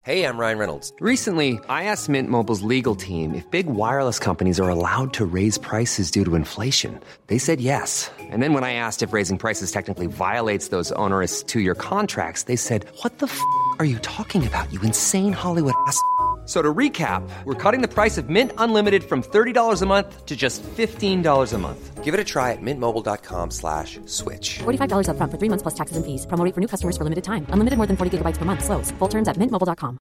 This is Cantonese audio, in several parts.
Hey, I'm Ryan Reynolds. Recently, I asked Mint Mobile's legal team if big wireless companies are allowed to raise prices due to inflation. They said yes. And then when I asked if raising prices technically violates those onerous two-year contracts, they said, "What the are you talking about, you insane Hollywood ass?" So to recap, we're cutting the price of Mint Unlimited from $30 a month to just $15 a month. Give it a try at mintmobile.com/switch. $45 up front for 3 months plus taxes and fees. Promo rate for new customers for limited time. Unlimited more than 40 gigabytes per month. Slows full terms at mintmobile.com.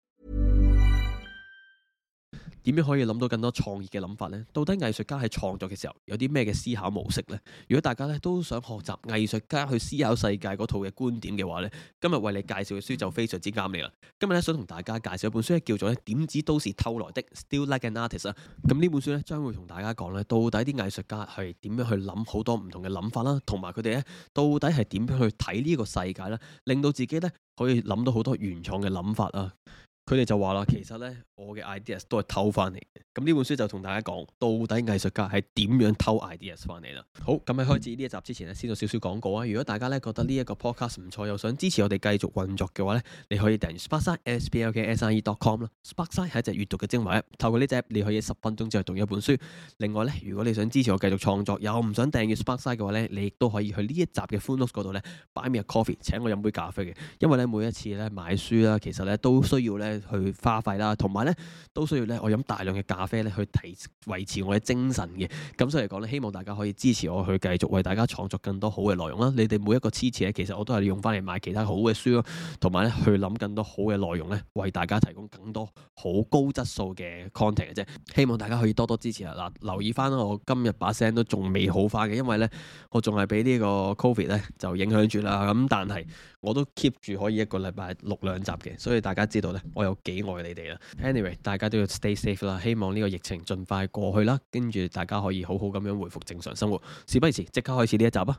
點樣可以諗到更多創意嘅諗法呢？到底藝術家喺創作嘅時候有啲咩嘅思考模式呢？如果大家咧都想學習藝術家去思考世界嗰套嘅觀點嘅話呢，今日為你介紹嘅書就非常之啱你啦。今日咧想同大家介紹一本書叫做咧點子都是偷來的 Still Like an Artist 啊。咁呢本書咧將會同大家講咧到底啲藝術家係點樣去諗好多唔同嘅諗法啦，同埋佢哋咧到底係點樣去睇呢個世界啦，令到自己咧可以諗到好多原創嘅諗法啊。佢哋就話啦，其實咧我嘅 ideas 都係偷翻嚟嘅。咁呢本書就同大家講，到底藝術家係點樣偷 ideas 翻嚟啦。好，咁喺開始呢一集之前咧，先做少少廣告啊。如果大家咧覺得呢一個 podcast 唔錯，又想支持我哋繼續運作嘅話咧，你可以訂閱 Sparkside sparkside.com 啦。Sparkside 係一隻閱讀嘅精華 app， 透過呢隻 app 你可以10分鐘之內讀一本書。另外咧，如果你想支持我繼續創作，又唔想訂閱 Sparkside 嘅話咧，你亦都可以去呢一集嘅 full notes 嗰度咧 buy me a coffee， 請我飲杯咖啡嘅。因為咧每一次咧買書啦，其實咧都需要咧去花費啦，同埋咧都需要咧我飲大量嘅咖啡咧去維持我嘅精神嘅。咁所以嚟講咧，希望大家可以支持我去繼續為大家創作更多好嘅內容啦。你哋每一個支持咧，其實我都係用翻嚟買其他好嘅書咯，同埋咧去諗更多好嘅內容咧，為大家提供更多好高質素嘅 content 嘅啫。希望大家可以多多支持啊！嗱，留意翻我今日把聲都仲未好翻嘅，因為咧我仲係俾呢個 Covid 咧就影響住啦。咁但係我都 keep 住可以一個禮拜錄2集嘅，所以大家知道咧我有幾愛你哋啦。Anyway， 大家都要 stay safe 啦，希望呢個疫情盡快過去啦，跟住大家可以好好咁樣回復正常生活。事不宜遲，即刻開始呢一集啊！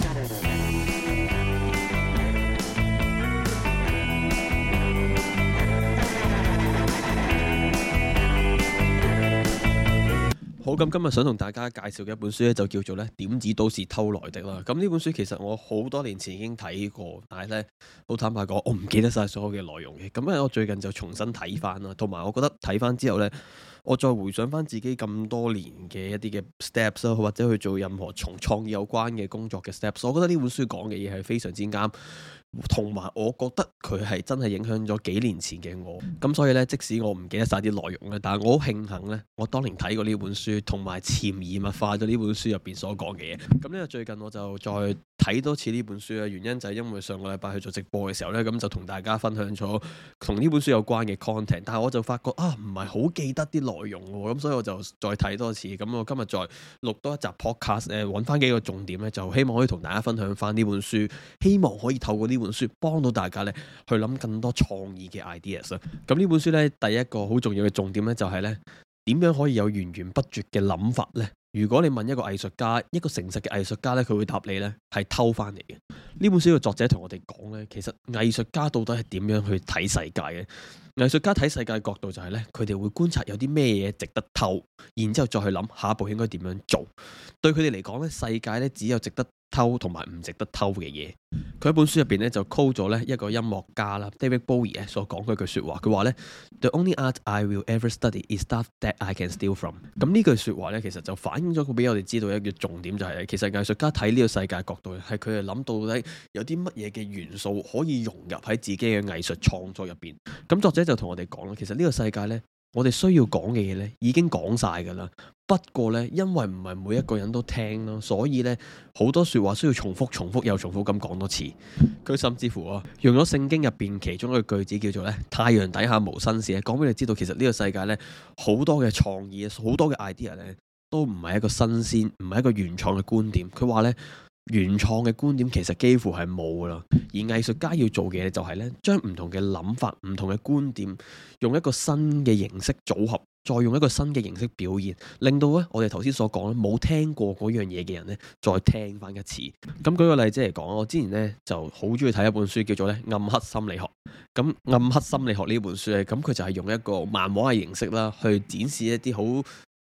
好，咁今日想同大家介紹嘅一本書咧，就叫做咧點子都是偷來的啦。咁呢本書其實我好多年前已經睇過，但係咧好坦白講，我唔記得晒所有嘅內容嘅。咁咧我最近就重新睇翻啦，同埋我覺得睇翻之後咧，我再回想翻自己咁多年嘅一啲嘅 steps 啦，或者去做任何從創意有關嘅工作嘅 steps， 我覺得呢本書講嘅嘢係非常之啱。同埋我覺得佢係真係影響咗幾年前嘅我，咁所以呢，即使我唔記得晒啲內容咧，但係我好慶幸呢，我當年睇過呢本書，同埋潛移默化咗呢本書入邊所講嘅嘢。咁呢個最近我就再睇多次呢本書啊，原因就係因為上個禮拜去做直播嘅時候呢，咁就同大家分享咗同呢本書有關嘅 content， 但係我就發覺啊，唔係好記得啲內容喎，咁所以我就再睇多次。咁我今日再錄多一集 podcast 揾翻幾個重點呢，就希望可以同大家分享翻呢本書，希望可以透過呢本書幫到大家咧去諗更多創意嘅 ideas 啦。咁呢本書咧第一個好重要嘅重點咧就係咧點樣可以有源源不絕嘅諗法咧？如果你問一個藝術家，一個誠實嘅藝術家咧，佢會答你咧係偷翻嚟嘅。呢本書嘅作者同我哋講咧，其實藝術家到底係點樣去睇世界嘅？藝術家睇世界角度就係咧，佢哋會觀察有啲咩嘢值得偷，然之後再去諗下一步應該點樣做。對佢哋嚟講咧，世界咧只有值得偷同埋唔值得偷嘅嘢。佢喺本書入邊咧就 quote 咗咧一個音樂家啦 David Bowie 所講嘅一句説話，佢話咧 The only art I will ever study is stuff that I can steal from。咁呢句説話咧其實就反映咗佢俾我哋知道一個重點，就係其實藝術家睇呢個世界角度係佢哋諗到底有啲乜嘢嘅元素可以融入喺自己嘅藝術創作入邊。咁作者就同我哋講啦，其實呢個世界咧我哋需要講嘅嘢咧已經講晒㗎啦。不過咧，因為唔係每一個人都聽咯，所以咧好多説話需要重複又重複咁講多次。佢甚至乎用咗聖經入邊其中一個句子叫做咧太陽底下無新事，講俾你知道其實呢個世界咧好多嘅創意，好多嘅 idea 咧都唔係一個新鮮，唔係一個原創嘅觀點。佢話咧原創嘅觀點其實幾乎係冇噶啦，而藝術家要做嘅嘢就係咧將唔同嘅諗法、唔同嘅觀點用一個新嘅形式組合，再用一個新嘅形式表現，令到咧我哋頭先所講咧冇聽過嗰樣嘢嘅人咧再聽翻一次。咁舉個例子嚟講，我之前咧就好中意睇一本書叫做咧暗黑心理學。咁暗黑心理學呢本書咧，咁佢就係用一個漫畫嘅形式啦，去展示一啲好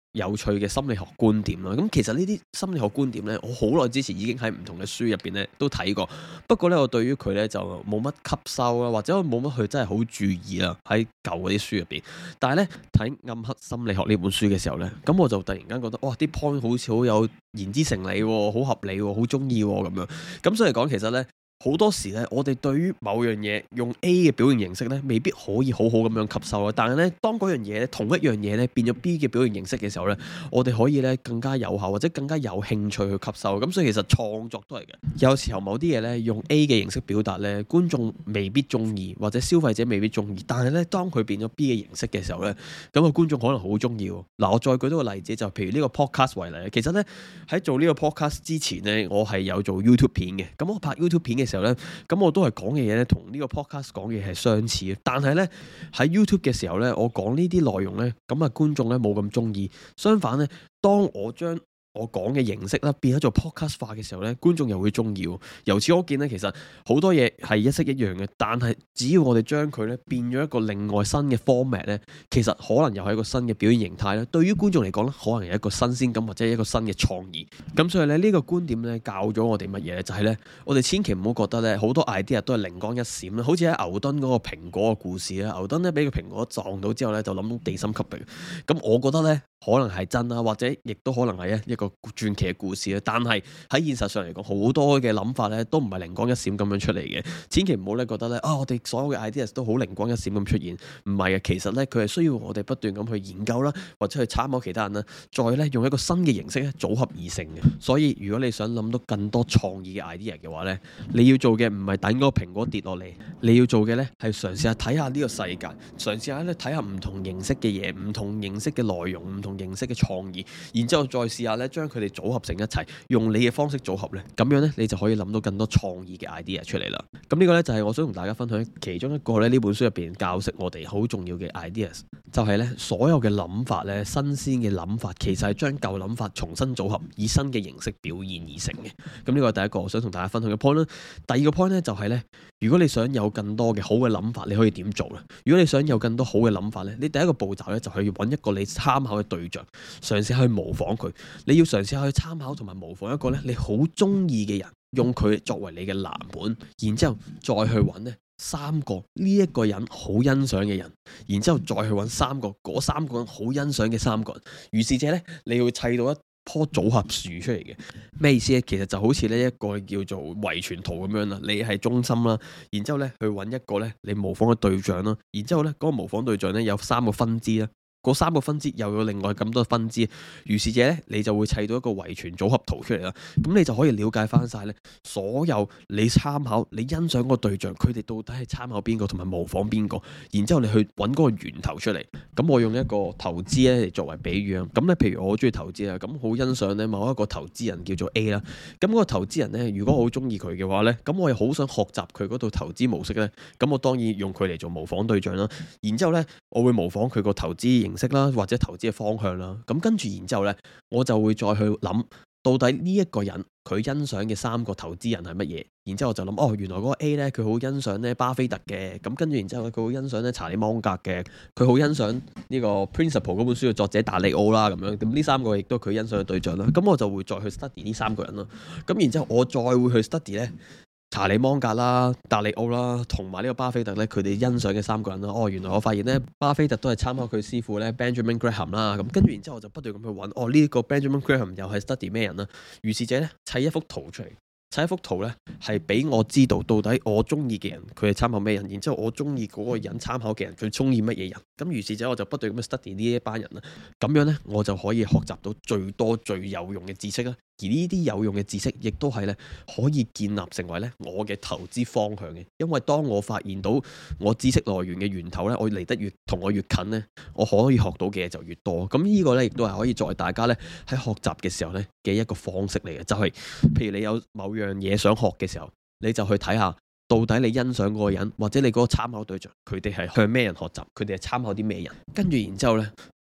有趣嘅心理學觀點啦。咁其實呢啲心理學觀點呢，我好耐之前已經喺唔同嘅書入邊呢都睇過。不過呢，我對於佢呢就冇乜吸收啦，或者我冇乜去真係好注意啦。喺舊嗰啲書入邊，但係呢，睇《暗黑心理學》呢本書嘅時候呢，咁我就突然間覺得哇，啲 point 好似好有言之成理喎，好合理喎，好中意喎咁樣。咁所以講其實呢，好多時咧，我哋對於某樣嘢用 A 嘅表現形式咧，未必可以好好咁樣吸收咯。但係咧，當嗰樣嘢咧，同一樣嘢咧變咗 B 嘅表現形式嘅時候咧，我哋可以咧更加有效或者更加有興趣去吸收。咁所以其實創作都係嘅。有時候某啲嘢咧用 A 嘅形式表達咧，觀眾未必中意，或者消費者未必中意。但係咧，當佢變咗 B 嘅形式嘅時候咧，咁個觀眾可能好中意。嗱，我再舉多個例子，就譬如呢個 podcast 為例。其實咧喺做呢個 podcast 之前咧，我係有做 YouTube 片嘅。咁我拍 YouTube 片嘅時候咧，咁我都係講嘅嘢咧，同呢個 podcast 講嘅嘢係相似嘅。但係咧喺 YouTube 嘅時候咧，我講呢啲內容咧，咁啊觀眾咧冇咁中意。相反咧，當我將我講嘅形式啦，變咗做 podcast 化嘅時候咧，觀眾又會中意。由此可見咧，其實好多嘢係一式一樣嘅，但係只要我哋將佢咧變咗一個另外新嘅 format 咧，其實可能又係一個新嘅表現形態咧。對於觀眾嚟講咧，可能係一個新鮮感或者一個新嘅創意。咁所以咧呢個觀點咧教咗我哋乜嘢咧？就係咧我哋千祈唔好覺得咧好多 idea 都係靈光一閃啦。好似喺牛頓嗰個蘋果嘅故事咧，牛頓咧俾個蘋果撞到之後咧就諗到地心吸力。咁我覺得咧可能係真啦，或者亦都可能係一個傳奇嘅故事啦。但係喺現實上嚟講，好多嘅諗法咧都唔係靈光一閃咁樣出嚟嘅。千祈唔好咧覺得咧我哋所有嘅 ideas 都好靈光一閃咁出現，唔係嘅。其實咧佢係需要我哋不斷咁去研究啦，或者去參考其他人啦，再咧用一個新嘅形式咧組合而成嘅。所以如果你想諗到更多創意嘅 idea 嘅話咧，你要做嘅唔係等嗰個蘋果跌落嚟，你要做嘅咧係嘗試下睇下呢個世界，嘗試下咧睇下唔同形式嘅嘢，唔同形式嘅內容，唔同形式嘅創意，然之後再試下咧將佢哋組合成一齊，用你嘅方式組合咧，咁樣咧你就可以諗到更多創意嘅 idea 出嚟啦。咁呢個咧就係我想同大家分享其中一個咧呢本書入邊教識我哋好重要嘅 ideas，就係咧所有嘅諗法咧，新鮮嘅諗法其實係將舊諗法重新組合，以新嘅形式表現而成嘅。咁呢個係第一個我想同大家分享嘅 point 啦。第二個 point 咧就係咧，如果你想有更多嘅好嘅諗法，你可以點做咧？如果你想有更多好嘅諗法咧，你第一個步驟咧就係要揾一個你參考嘅對象，嘗試去模仿佢。你要嘗試去參考同埋模仿一個咧你好中意嘅人，用佢作為你嘅藍本，然之後再去揾呢三個呢一個人好欣賞嘅人，然之後再去揾嗰三個人好欣賞嘅三個人。如是者呢，你要砌到一棵組合樹出嚟嘅。咩意思咧？其實就好似呢一個叫做遺傳圖咁樣啦，你係中心啦，然之後呢去揾一個呢你模仿嘅對象啦，然之後呢嗰個模仿對象呢有三個分支啦。嗰三個分支又有另外咁多分支，如是者咧，你就會砌到一個遺傳組合圖出嚟啦。咁你就可以了解翻晒咧，所有你參考、你欣賞嗰個對象，佢哋到底係參考邊個同埋模仿邊個，然之後你去揾嗰個源頭出嚟。咁我用一個投資咧嚟作為比喻啊。咁咧，譬如我好中意投資啊，咁好欣賞咧某一個投資人叫做 A 啦。咁嗰個投資人咧，如果我好中意佢嘅話咧，咁我又好想學習佢嗰套投資模式咧，咁我當然用佢嚟做模仿對象啦。然之後咧，我會模仿佢個投資形式啦，或者投資嘅方向啦，咁跟住然之後呢，我就會再去諗到底呢一個人佢欣賞嘅三個投資人係乜嘢，然之後我就諗原來嗰個 A 呢，佢好欣賞呢巴菲特嘅，咁跟住然之後佢好欣賞呢查理芒格嘅，佢好欣賞呢個 Principle 嗰本書嘅作者達利奧啦，咁樣，咁呢三個亦都係佢欣賞嘅對象啦，咁我就會再去 study 呢三個人咯，咁然之後我再會去 study 呢查理芒格啦、達利奧啦，同埋呢個巴菲特咧，佢哋欣賞嘅三個人啦。原來我發現咧，巴菲特都係參考佢師傅咧 Benjamin Graham 啦。咁跟住然之後，我就不斷咁去揾，呢個 Benjamin Graham 又係 study 咩人啦？如是者咧，砌一幅圖出嚟，砌一幅圖咧，係俾我知道到底我中意嘅人佢係參考咩人，然之後我中意嗰個人參考嘅人佢中意乜嘢人。咁如是者我就不斷咁去 study 呢一班人啦。咁樣咧，我就可以學習到最多最有用嘅知識啦。而呢啲有用嘅知識，亦都係咧可以建立成為咧我嘅投資方向嘅。因為當我發現到我知識來源嘅源頭咧，我離得越同我越近咧，我可以學到嘅嘢就越多。咁呢個咧亦都係可以作為大家咧喺學習嘅時候咧嘅一個方式嚟嘅。就係譬如你有某樣嘢想學嘅時候，你就去睇下到底你欣賞嗰個人或者你嗰個參考對象，佢哋係向咩人學習，佢哋係參考啲咩人，跟住然之後咧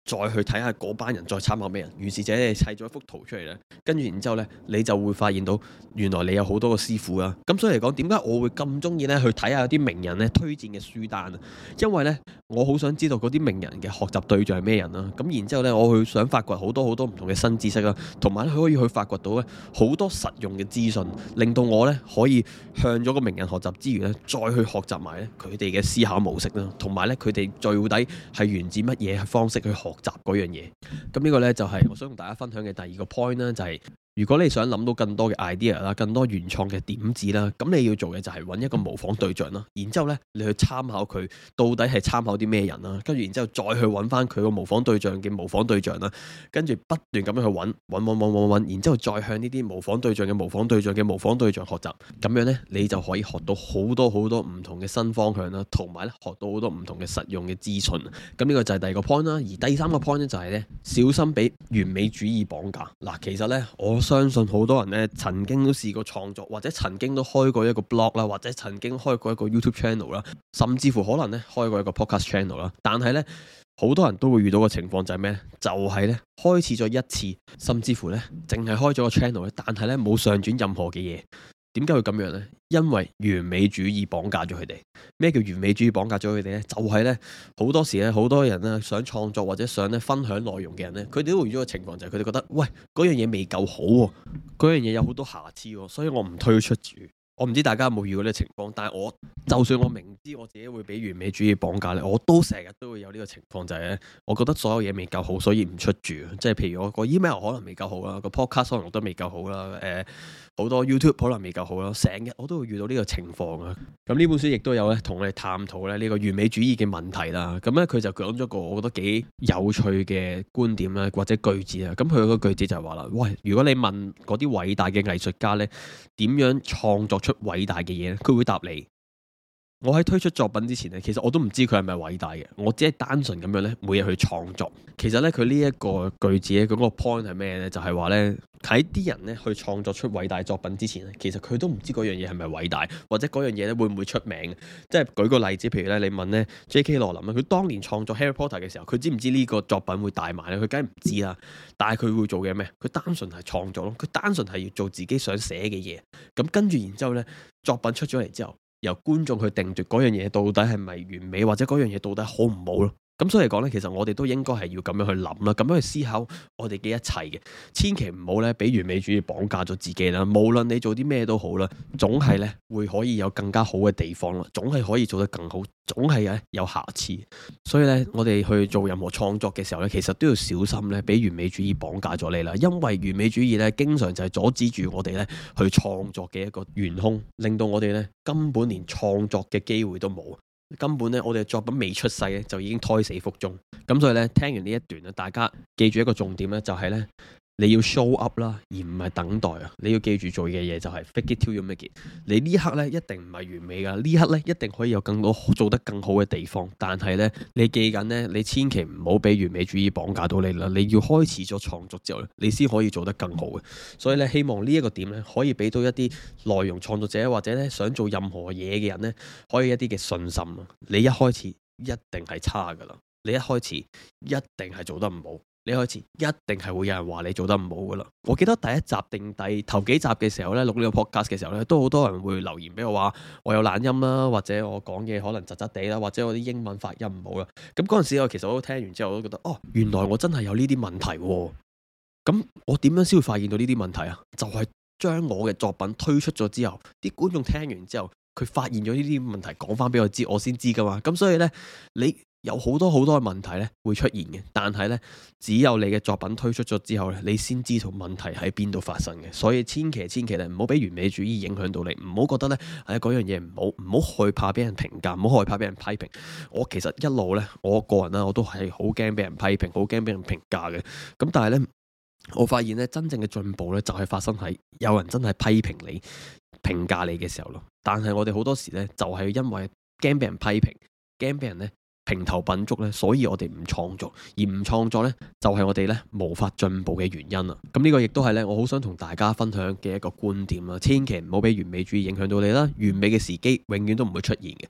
再去睇下嗰班人再參考咩人，於是者你砌咗一幅圖出嚟咧，跟住然之後咧你就會發現到原來你有好多個師傅啊。咁所以嚟講，點解我會咁中意咧去睇下有啲名人咧推薦嘅書單啊？因為咧我好想知道嗰啲名人嘅學習對象係咩人啦。咁然之後咧我去想發掘好多好多唔同嘅新知識啦，同埋咧可以去發掘到咧好多實用嘅資訊，令到我咧可以向咗個名人學習之餘咧，再去學習埋咧佢哋嘅思考模式啦，同埋咧佢哋到底係源自乜嘢方式去學習嗰樣嘢。咁呢個咧就係我想同大家分享嘅第二個 point 啦，就係如果你想諗到更多嘅 idea 啦，更多原創嘅點子啦，咁你要做嘅就係揾一個模仿對象啦，然之後咧你去參考佢到底係參考啲咩人啦，跟住然之後再去揾翻佢個模仿對象嘅模仿對象啦，跟住不斷咁樣去揾，然之後再向呢啲模仿對象嘅模仿對象嘅模仿對象學習，咁樣咧你就可以學到好多好多唔同嘅新方向啦，同埋咧學到好多唔同嘅實用嘅資訊。咁呢個就係第二個 point 啦，而第三個 point 咧就係咧小心俾完美主義綁架。嗱，其實咧我相信好多人咧曾經都試過創作，或者曾經都開過一個 blog 啦，或者曾經開過一個 YouTube channel 啦，甚至乎可能咧開過一個 podcast channel 啦。但係咧好多人都會遇到個情況就係咩咧？就係咧開始咗一次，甚至乎咧淨係開咗個 channel 咧，但係咧冇上傳任何嘅嘢。點解會咁樣呢？因為完美主義綁架咗佢哋。咩叫完美主義綁架咗佢哋呢？就係呢，好多時咧，好多人咧想創作或者想咧分享內容嘅人呢，佢哋都會遇到個情況就係佢哋覺得，喂，嗰樣嘢未夠好喎，嗰樣嘢有好多瑕疵喎，所以我唔推出住。我唔知大家有冇遇過呢個情況，但係我就算我明知我自己會俾完美主義綁架咧，我都成日都會有呢個情況，就係咧，我覺得所有嘢未夠好，所以唔出住。即係譬如我個 email 可能未夠好啦，個 podcast 可能都未夠好啦，好多 YouTube 可能未夠好啦，成日我都會遇到呢個情況啊。咁呢本書亦都有咧同我哋探討咧呢個完美主義嘅問題啦。咁咧佢就講咗個我覺得幾有趣嘅觀點啦，或者句子啊。咁佢個句子就係話啦，喂，如果你問嗰啲偉大嘅藝術家咧點樣創作出偉大嘅嘢咧，佢會答你：我喺推出作品之前咧，其實我都唔知佢係咪偉大嘅，我只係單純咁樣咧每日去創作。其實咧佢呢一個句子咧，嗰個 point 係咩咧？就係話咧喺啲人咧去創作出偉大作品之前咧，其實佢都唔知嗰樣嘢係咪偉大，或者嗰樣嘢咧會唔會出名。即係舉個例子，譬如咧你問咧 J.K. 羅琳啊，佢當年創作 Harry Potter 嘅時候，佢知唔知呢個作品會大賣咧？佢梗係唔知啦。但係佢會做嘅咩？佢單純係創作咯，佢單純係要做自己想寫嘅嘢。咁跟住然之後咧，作品出咗嚟之後，由觀眾去定奪嗰樣嘢到底係咪完美，或者嗰樣嘢到底好唔好咯。咁所以嚟講呢，其實我哋都應該係要咁樣去諗啦，咁樣去思考我哋嘅一切嘅，千祈唔好呢俾完美主義綁架咗自己啦。無論你做啲咩都好啦，總係呢會可以有更加好嘅地方啦，總係可以做得更好，總係有瑕疵。所以呢，我哋去做任何創作嘅時候呢，其實都要小心呢俾完美主義綁架咗你啦。因為完美主義呢，經常就係阻止住我哋呢去創作嘅一個元兇，令到我哋呢根本連創作嘅機會都冇。根本咧，我哋嘅作品未出世咧，就已經胎死腹中。咁所以咧，聽完呢一段咧，大家記住一個重點咧，就係咧，你要 show up 啦，而唔係等待啊！你要記住做嘅嘢就係 fake it till you make it。你呢刻咧一定唔係完美噶，呢刻咧一定可以有更多做得更好嘅地方。但係咧，你記緊咧，你千祈唔好俾完美主義綁架到你啦。你要開始咗創作之後咧，你先可以做得更好嘅。所以咧，希望呢一個點咧，可以俾到一啲內容創作者或者咧想做任何嘢嘅人咧，可以一啲嘅信心啊！你一開始一定係差噶啦，你一開始一定係做得唔好。你開始一定係會有人話你做得唔好噶啦。我記得第一集定頭幾集嘅時候咧，錄呢個 podcast 嘅時候咧，都好多人會留言俾我話我有懶音啦，或者我講嘢可能窒窒地啦，或者我啲英文發音唔好啦。咁嗰陣時我其實我都聽完之後我都覺得，哦，原來我真係有呢啲問題喎。咁我點樣先會發現到呢啲問題啊？就係將我嘅作品推出咗之後，啲觀眾聽完之後，佢發現咗呢啲問題，講翻俾我知，我先知噶嘛。咁所以呢，你有好多好多嘅問題咧會出現嘅，但係咧只有你嘅作品推出咗之後咧，你先知道問題喺邊度發生嘅。所以千祈咧唔好俾完美主義影響到你，唔好覺得咧嗰樣嘢唔好，唔好害怕俾人評價，唔好害怕俾人批評。我其實一路咧，我個人啦，我都係好驚俾人批評，好驚俾人評價嘅。咁但係咧，我發現咧真正嘅進步咧就係發生喺有人真係批評你、評價你嘅時候咯。但係我哋好多時咧就係因為驚俾人批評，驚俾人咧評頭品足咧，所以我哋唔創作，而唔創作咧就係我哋咧無法進步嘅原因啦。咁呢個亦都係咧我好想同大家分享嘅一個觀點啦。千祈唔好俾完美主義影響到你啦，完美嘅時機永遠都唔會出現嘅。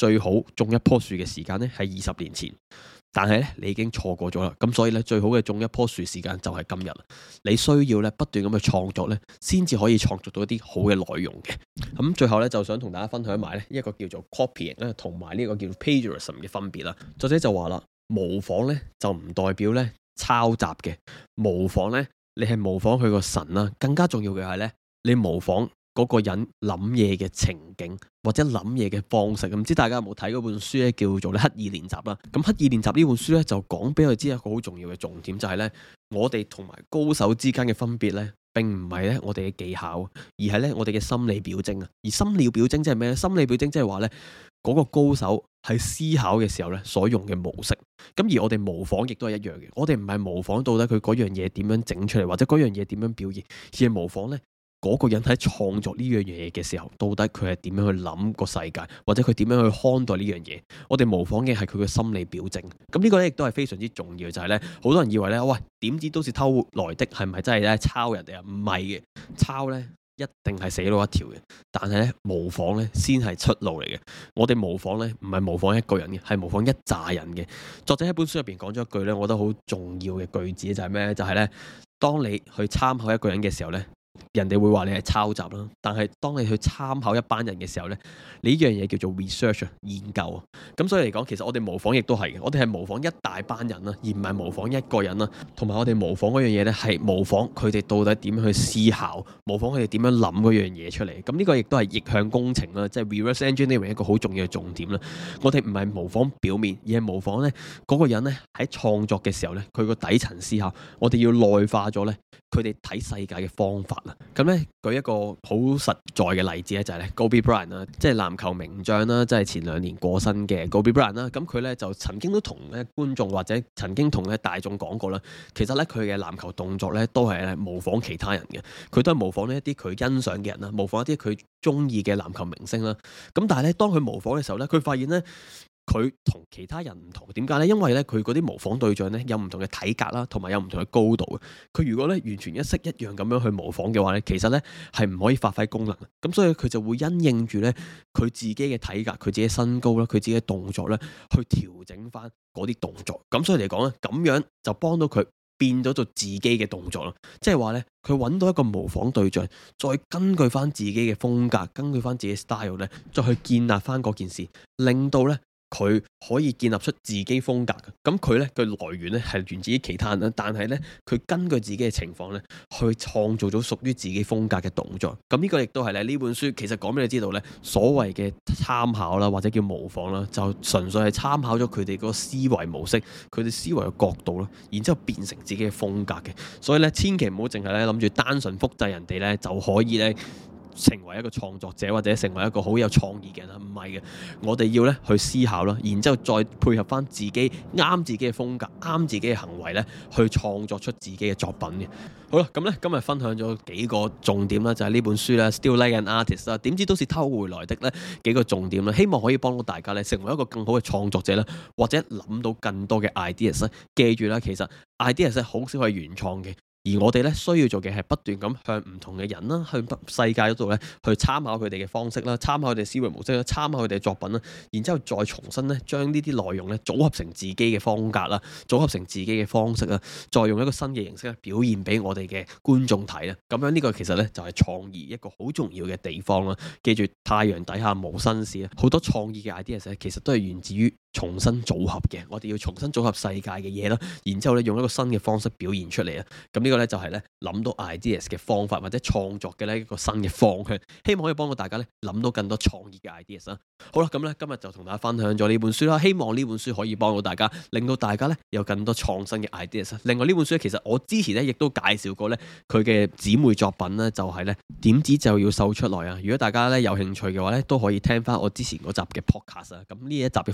最好種一棵樹嘅時間呢係20年前。但係咧，你已經錯過咗啦，咁所以咧，最好嘅種一棵樹時間就係今日。你需要咧不斷咁去創作咧，先至可以創作到一啲好嘅內容嘅。咁最後咧，就想同大家分享埋咧一個叫做 copying 咧，同埋呢個叫做 plagiarism 嘅分別啦。作者就話啦，模仿咧就唔代表咧抄襲嘅，模仿咧你係模仿佢個神啦，更加重要嘅係咧，你模仿嗰個人諗嘢嘅情景或者諗嘢嘅方式。唔知大家有冇睇嗰本書咧，叫做刻意練習啦。咁刻意練習呢本書咧就講俾我哋知一個好重要嘅重點，就係咧我哋同埋高手之間嘅分別咧，並唔係咧我哋嘅技巧，而係咧我哋嘅心理表徵啊。而心理表徵即係咩咧？心理表徵即係話咧嗰個高手喺思考嘅時候咧所用嘅模式。咁而我哋模仿亦都係一樣嘅，我哋唔係模仿到底佢嗰樣嘢點樣整出嚟，或者嗰樣嘢點樣表現，而係模仿咧嗰個人喺創作呢樣嘢嘅時候，到底佢係點樣去諗個世界，或者佢點樣去看待呢樣嘢？我哋模仿嘅係佢嘅心理表徵。咁呢個咧亦都係非常之重要，就係咧好多人以為咧，喂，點知都是偷來的，係咪真係咧抄人哋啊？唔係嘅，抄咧一定係死路一條嘅。但係咧模仿咧先係出路嚟嘅。我哋模仿咧唔係模仿一個人嘅，係模仿一紮人嘅。作者喺本書入邊講咗一句咧，我覺得好重要嘅句子就係咩？就係咧，當你去參考一個人嘅時候咧，人哋會話你係抄襲啦，但係當你去參考一班人嘅時候呢，你呢樣嘢叫做 research 研究啊。咁所以嚟講，其實我哋模仿亦都係嘅，我哋係模仿一大班人啦，而唔係模仿一個人啦。同埋我哋模仿嗰樣嘢呢，係模仿佢哋到底點樣去思考，模仿佢哋點樣諗嗰樣嘢出嚟。咁呢個亦都係逆向工程啦，即係 reverse engineering 一個好重要嘅重點啦。我哋唔係模仿表面，而係模仿呢嗰個人呢喺創作嘅時候呢，佢個底層思考，我哋要內化咗呢佢哋睇世界嘅方法啦。咁咧舉一個好實在嘅例子咧，就係咧 Kobe Bryant 啦，即係籃球名將啦，即係前2年過身嘅 Kobe Bryant 啦。咁佢咧就曾經都同咧觀眾或者曾經同咧大眾講過啦，其實咧佢嘅籃球動作咧都係咧模仿其他人嘅，佢都係模仿呢一啲佢欣賞嘅人啦，模仿一啲佢中意嘅籃球明星啦。咁但係咧當佢模仿嘅時候咧，佢發現咧佢同其他人唔同，點解呢？因為咧佢嗰啲模仿對象咧有唔同嘅體格啦，同埋有唔同嘅高度嘅。佢如果咧完全一式一樣咁樣去模仿嘅話咧，其實咧係唔可以發揮功能。咁所以佢就會因應住咧佢自己嘅體格、佢自己身高啦、佢自己嘅動作咧，去調整翻嗰啲動作。咁所以嚟講咧，咁樣就幫到佢變咗做自己嘅動作咯。即係話咧，佢揾到一個模仿對象，再根據翻自己嘅風格，根據翻自己嘅 style 咧，再去建立翻嗰件事，令到咧佢可以建立出自己風格嘅。咁佢呢個來源呢係源自於其他人啦，但係呢，佢根據自己嘅情況呢去創造咗屬於自己風格嘅動作。咁呢個亦都係咧呢本書其實講俾你知道呢，所謂嘅參考啦或者叫模仿啦，就純粹係參考咗佢哋嗰個思維模式、佢哋思維嘅角度啦，然之後變成自己嘅風格嘅。所以呢，千祈唔好淨係咧諗住單純複製人哋呢就可以呢成為一個創作者或者成為一個好有創意嘅人啦，唔係嘅，我哋要咧去思考啦，然之後再配合翻自己啱自己嘅風格、啱自己嘅行為咧，去創作出自己嘅作品嘅。好啦，咁咧今日分享咗幾個重點啦，就係呢本書啦 Still Like an Artist 啦，點知都是偷回來的咧幾個重點啦，希望可以幫到大家咧成為一個更好嘅創作者啦，或者諗到更多嘅 ideas 啦。記住啦，其實 ideas 係好少係原創嘅。而我哋咧需要做嘅係不斷咁向唔同嘅人啦，向世界嗰度咧去參考佢哋嘅方式啦，參考佢哋思維模式啦，參考佢哋嘅作品啦，然之後再重新咧將呢啲內容咧組合成自己嘅風格啦，組合成自己嘅方式啦，再用一個新嘅形式咧表現俾我哋嘅觀眾睇啦。咁樣呢個其實咧就係創意一個好重要嘅地方啦。記住，太陽底下無新事啊！好多創意嘅 ideas 其實都係源自於重新組合嘅。我哋要重新組合世界嘅嘢啦，然之後咧用一個新嘅方式表現出嚟啊！咁呢個咧就係咧諗到 ideas 嘅方法或者創作嘅呢一個新嘅方向，希望可以幫到大家咧諗到更多創意嘅 ideas 啦。好啦，咁咧今日就同大家分享咗呢本書啦，希望呢本書可以幫到大家，令到大家咧有更多創新嘅 ideas。另外呢本書其實我之前咧亦都介紹過咧佢嘅姊妹作品咧，就係咧點子就要秀出來啊！如果大家咧有興趣嘅話咧，都可以聽翻我之前嗰集嘅 podcast 啊。咁呢一集嘅附錄入邊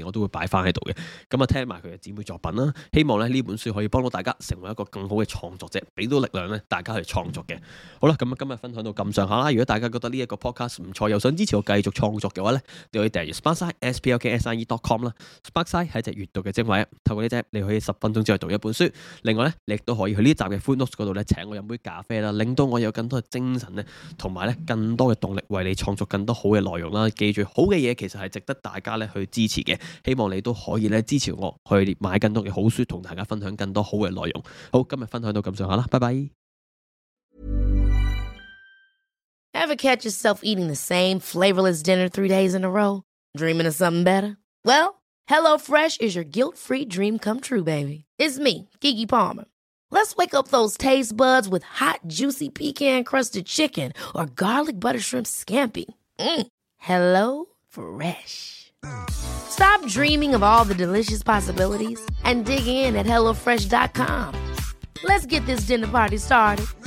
邊我都會擺翻喺度嘅。咁啊，聽埋佢嘅姊妹作品啦，希望咧呢本書可以幫到大家成為一個更好嘅創作者，俾到力量咧大家去創作嘅。好啦，咁啊今日分享到咁上下啦。如果大家覺得呢一個 podcast 唔錯，又想支持我繼續創作嘅話咧，你可以訂閱 Sparkside sparkside.com 啦。Sparkside 係一隻閱讀嘅精華，透過呢隻你可以10分鐘之內讀一本書。另外咧，你亦都可以去呢集嘅 Footnotes 嗰度咧請我飲杯咖啡啦，令到我有更多嘅精神咧，同埋咧更多嘅動力為你創作更多好嘅內容啦。記住，好嘅嘢其實係值得大家咧去支持嘅。希望你都可以咧支持我去買更多嘅好書，同大家分享更多好嘅內容。好，今日分享到咁上下啦，拜拜。 Ever catch yourself eating the same flavorless dinner 3 days in a row? Dreaming of something better? Well, HelloFresh is your guilt-free dream come true, baby. It's me, Keke Palmer. Let's wake up those taste buds with hot, juicy pecan-crusted chicken or garlic butter shrimp scampi. Hello Fresh. Stop dreaming of all the delicious possibilities and dig in at HelloFresh.com. Let's get this dinner party started.